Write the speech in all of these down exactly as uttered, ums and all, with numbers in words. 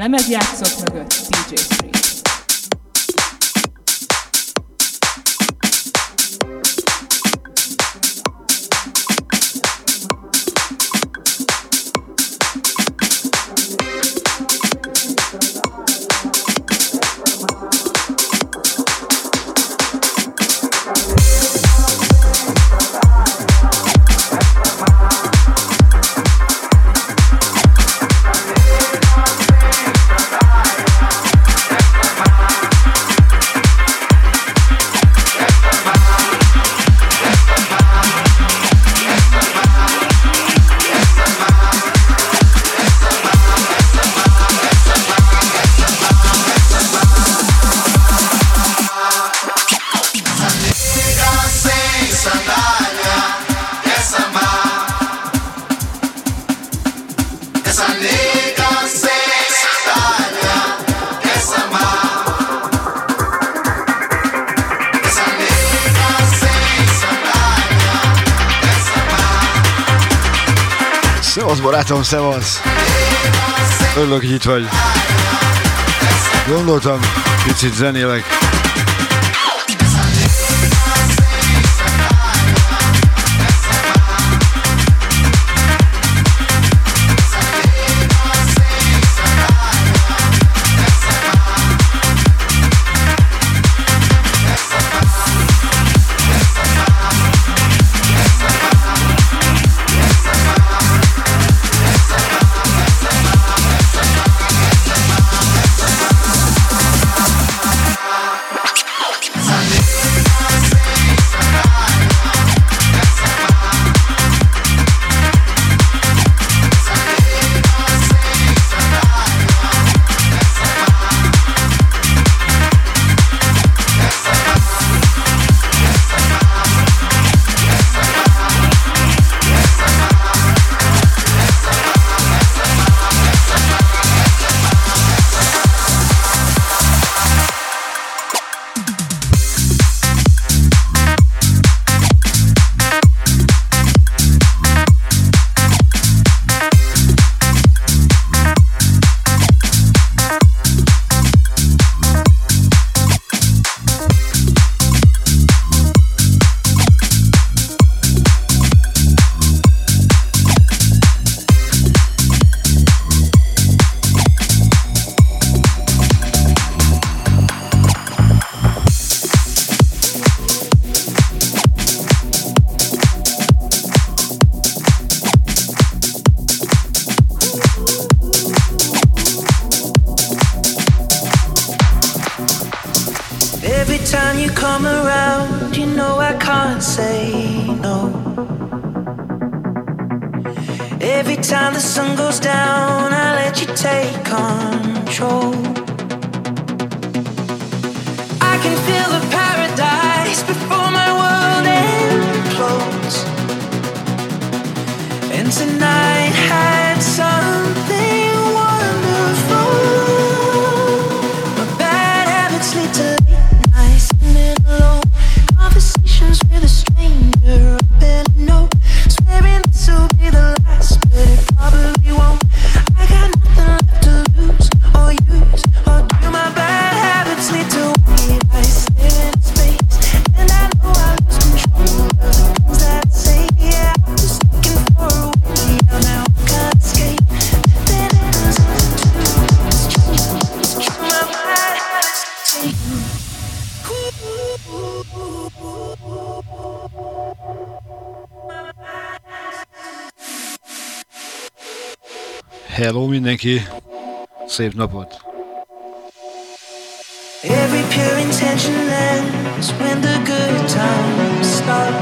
lemezjátszók mögött dé dzsé Free. Barátom, szevasz! Örülök, hogy itt vagy. Gondoltam, picit zenélek. Hello mindenki, szép napot! Every pure intention ends when the good times start.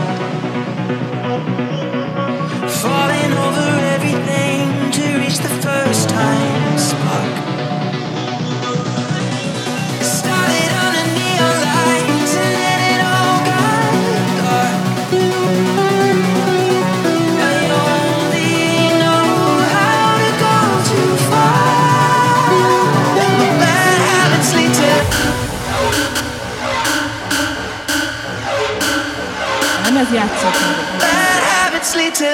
Falling over everything to reach the first time spark. Started on a neon lights and then it all got dark. I only know how to go too far. My bad habits lead to bad habits lead to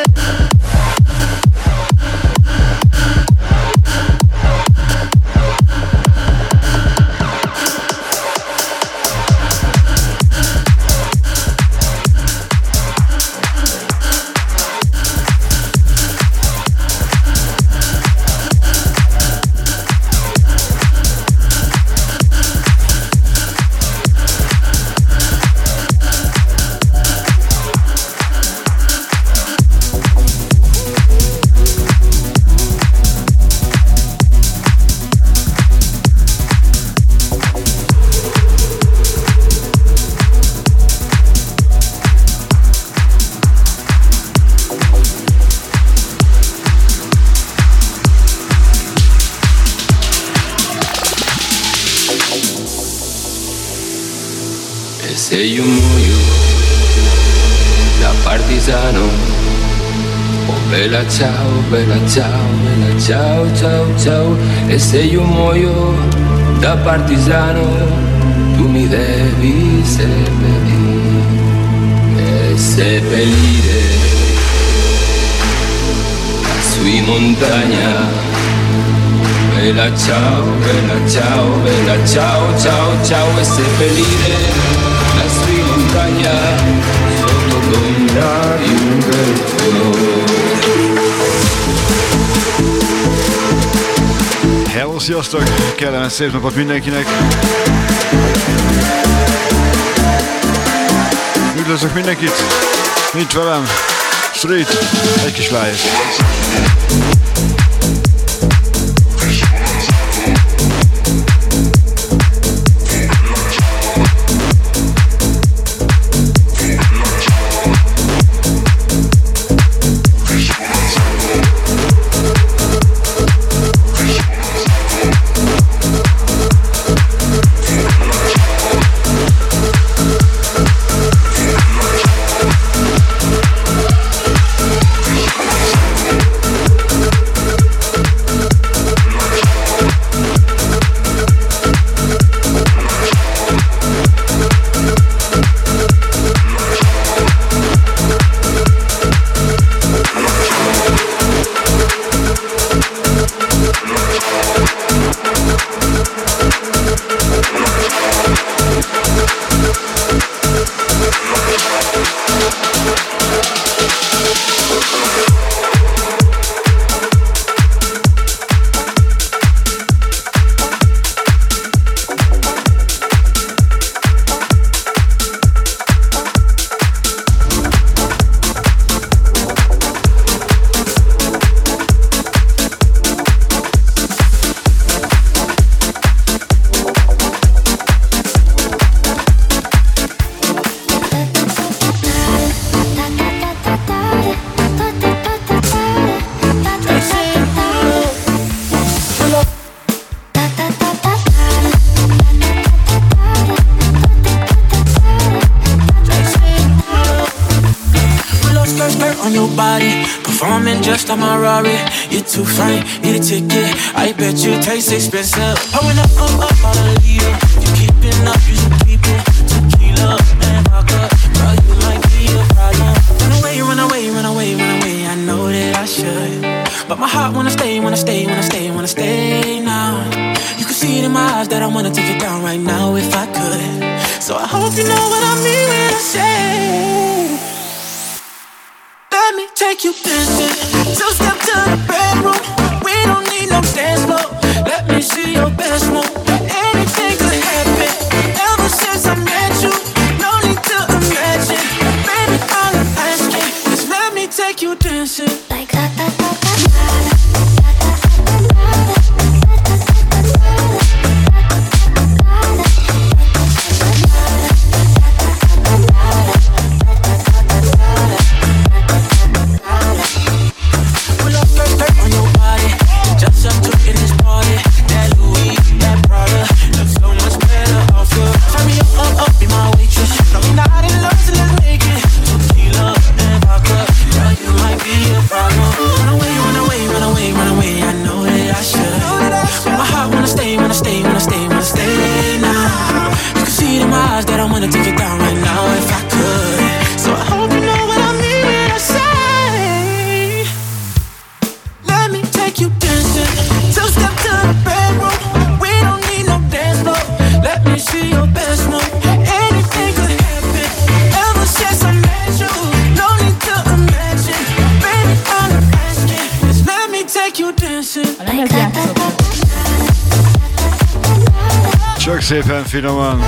se io muoio da partigiano, oh bella ciao, bella ciao, bella ciao, ciao, ciao. E se io muoio da partigiano, tu mi devi seppellire, e seppellire su in montagna. Bella ciao, bella ciao, bella ciao, ciao, ciao. E seppellire lassù in montagna sotto l'ombra di un bel Hello, sziasztok! Kellemes szép napot mindenkinek! Üdvözlök mindenkit! Nincs velem! Street! Egy kis live! I'm a Rari, you're too fine, need a ticket. I bet you taste expensive. Pouring up, up, up, all the leader. You keeping up, you should keep it. Tequila and vodka, girl, you might be a problem. Run away, run away, run away, run away. I know that I should, but my heart wanna stay, wanna stay, wanna stay, wanna stay now. You can see it in my eyes that I wanna take it down right now if I could. So I hope you know what I mean when I say, let me take you dancing. Two step to the bedroom. We don't need no dance floor. Let me see your best move. Anything could happen. Ever since I met you, no need to imagine. Baby, all I'm asking is let me take you dancing. Like that, that, that, that, that. Csak szépen finoman.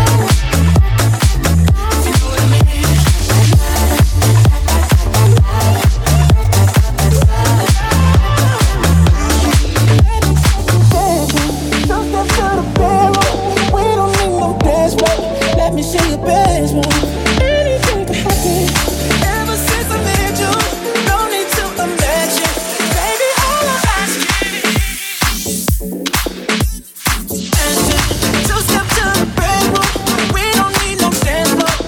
Two step to the bedroom, we don't need no dance floor.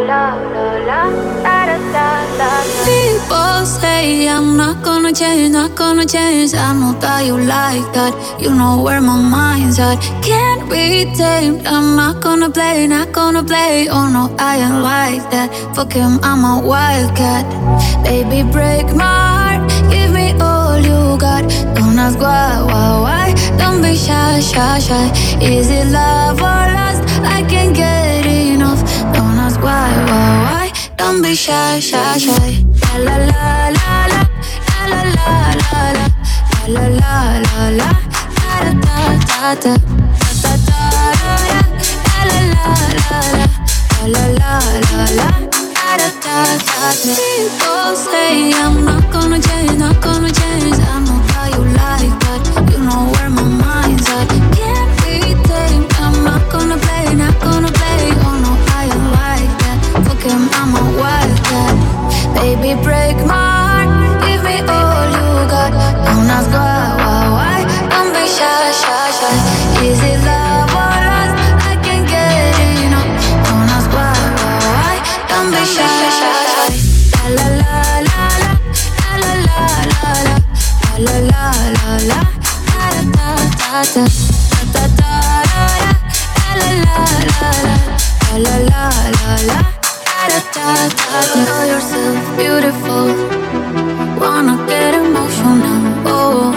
People say I'm not gonna change, not gonna change. I know that you like that. You know where my mind's at. Can't be tamed. I'm not gonna play, not gonna play. Oh no, I ain't like that. Fuck him, I'm a wildcat. Baby, break my heart. Give me all you got. Don't ask why, why, why. Don't be shy, shy, shy. Is it love or lust? I can't get enough. Don't ask why, why, why. Don't be shy, shy, shy. La la la la la la la la la la la la la la da da da da da da la la la la la la la la da da da. People say I'm not gonna change, not gonna change. I know how you like that. You know where my mind's at. Can't be tamed. I'm not gonna play, not gonna play. Oh no, I ain't like that. Fuck him, I'm a wildcat. Baby, break my heart. Give me all you got. Don't ask why, why, why. Don't be shy, shy, shy. Is it love or lust? I can't get enough. Don't ask why, why, why. Don't be shy, shy, shy. La la la la la la la la la la la la la da da da da da da da la la la la la la la la. Know yourself beautiful. Wanna get emotional. Oh,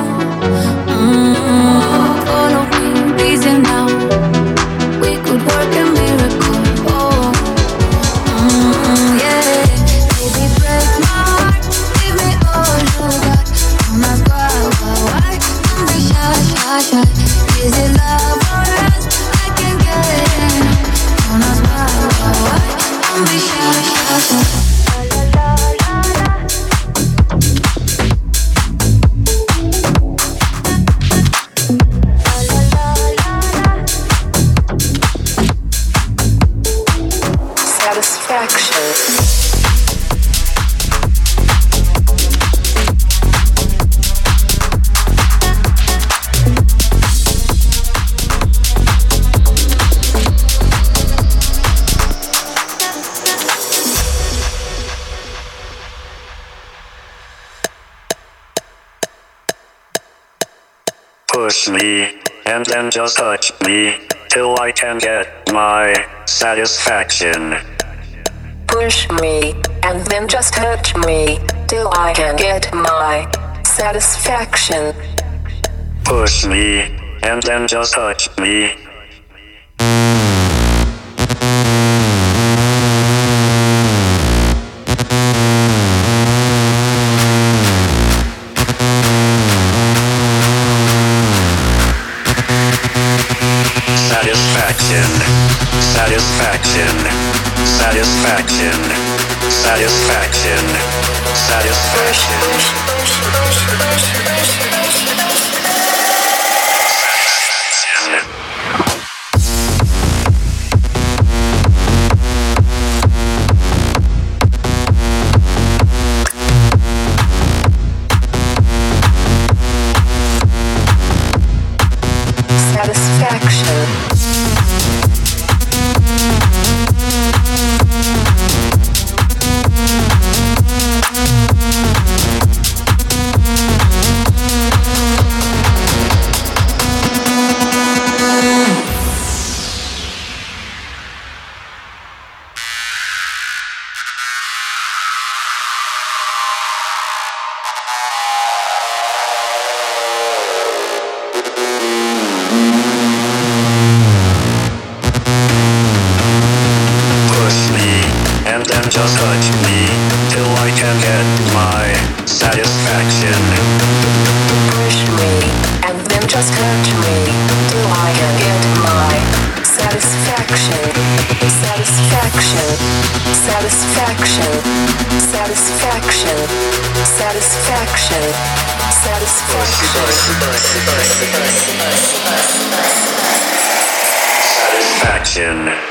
mm, follow me, easy now. We could work a miracle. Oh, mm, yeah. Baby, break my heart. Give me all you got. Don't ask why, why, why. Don't be shy, shy, shy. Is it love or lust? I can't get enough. Don't ask why, why, why. Don't be shy, shy, shy. Push me, and then just touch me, till I can get my satisfaction. Push me, and then just touch me, till I can get my satisfaction. Push me, and then just touch me. Satisfaction, satisfaction, satisfaction, satisfaction, satisfaction. Just touch me till I can get my satisfaction. Push me and then just touch me till I can get my satisfaction. Satisfaction. Satisfaction. Satisfaction. Satisfaction. Satisfaction. Satisfaction.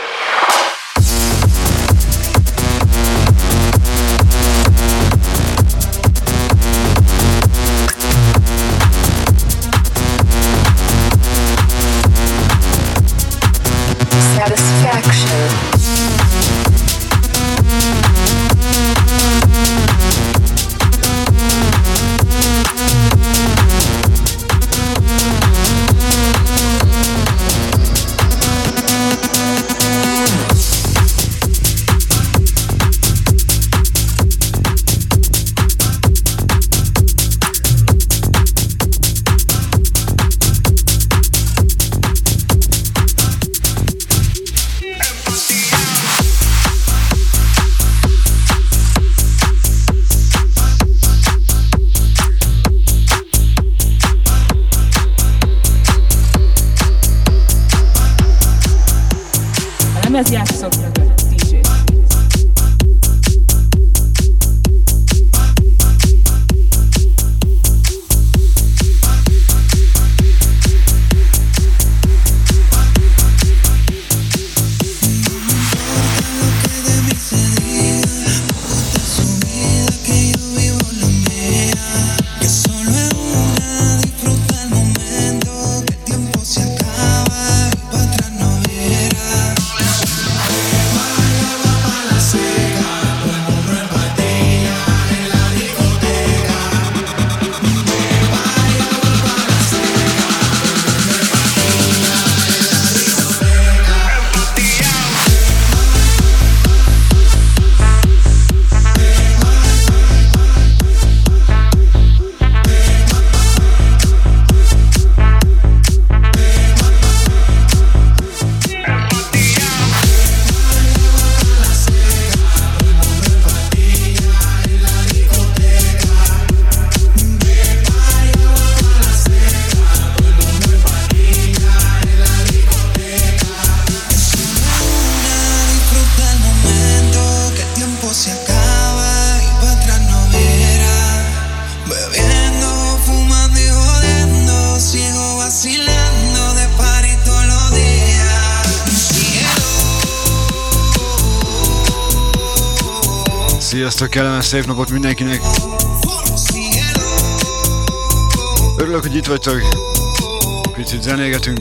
Sziasztok, kellemes szép napot mindenkinek! Örülök, hogy itt vagytok. Picit zenégetünk.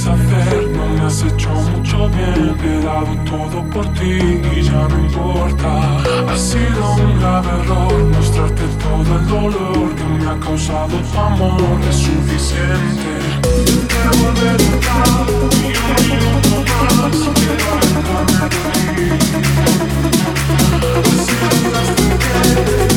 saber, no me has hecho mucho bien. He dado todo por ti y ya no importa. Ha sido un grave error mostrarte todo el dolor que me ha causado tu amor. Es suficiente. Quiero volver atrás y un minuto más. Quiero alejarme de ti. Así lograste que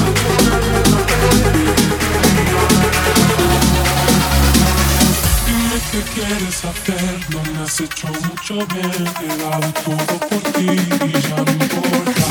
¿qué quieres hacer? No me has hecho mucho bien. He dado todo por ti y ya no importa.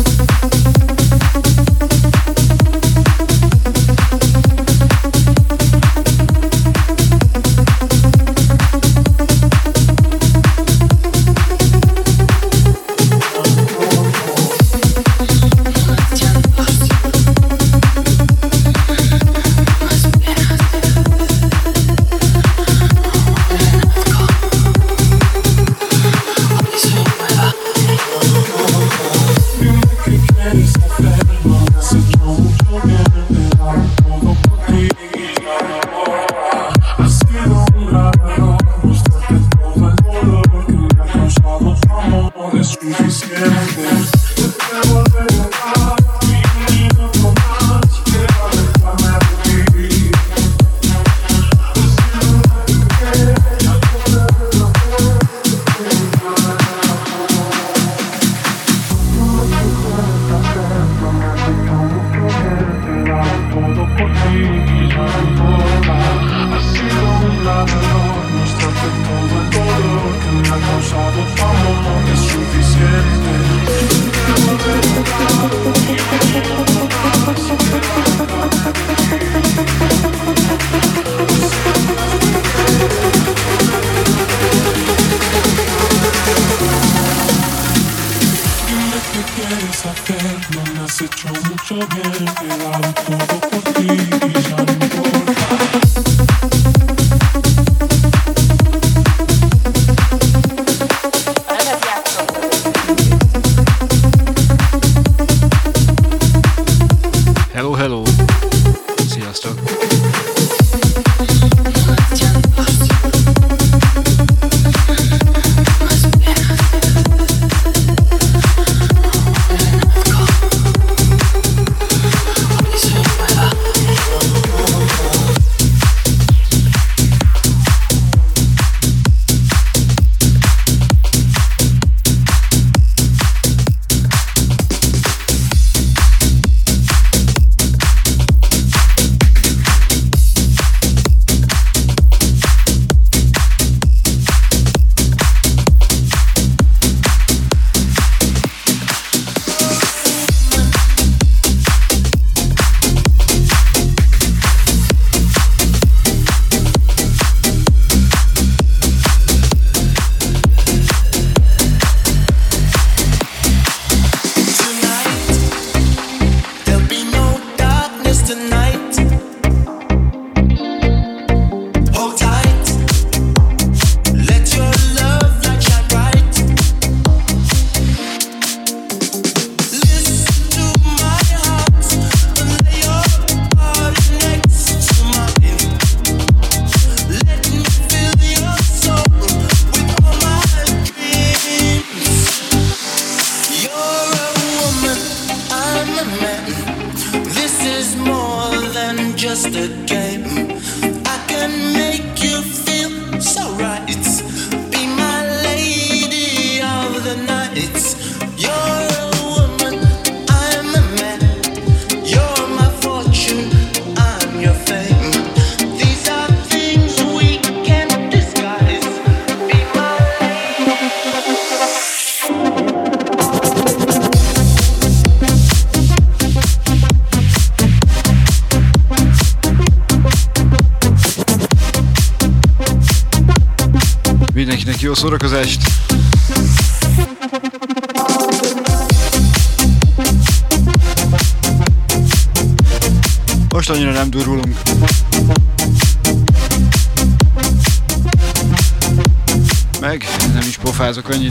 Mindenkinek jó szórakozást! Most annyira nem durulunk. Meg nem is pofázok annyit.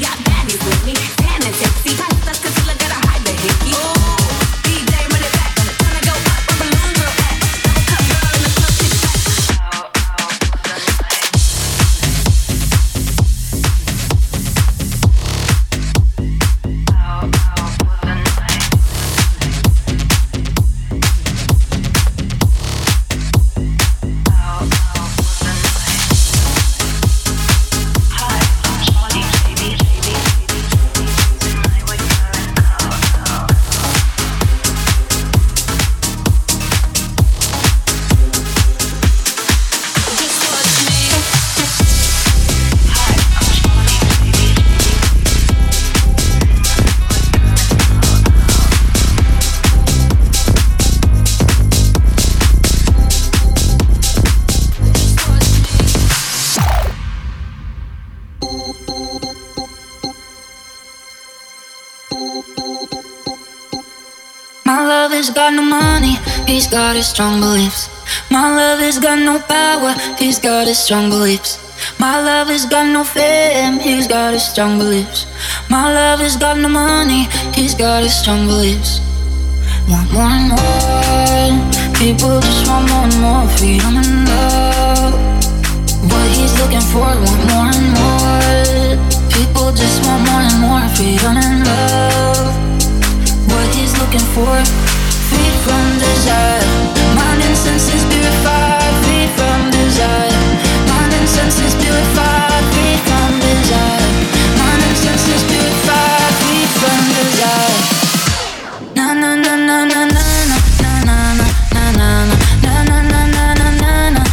got no money, he's got his strong beliefs. My love has got no power, he's got his strong beliefs. My love has got no fame, he's got his strong beliefs. My love has got no money, he's got his strong beliefs. Want more and more, people just want more and more freedom and love. What he's looking for, want more and more. People just want more and more freedom and love. What he's looking for, freed from desire. Mind and senses purified, freed from desire. Mind and senses purified, freed from desire. Mind and senses purified, freed from desire. Na na na na na na na na na na na na na na na na na.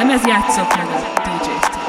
lemez játszok meg a dé dzsé Street.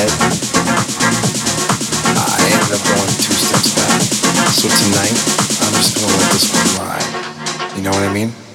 ahead. I ended up going two steps back. So tonight, I'm just gonna let this one ride. You know what I mean?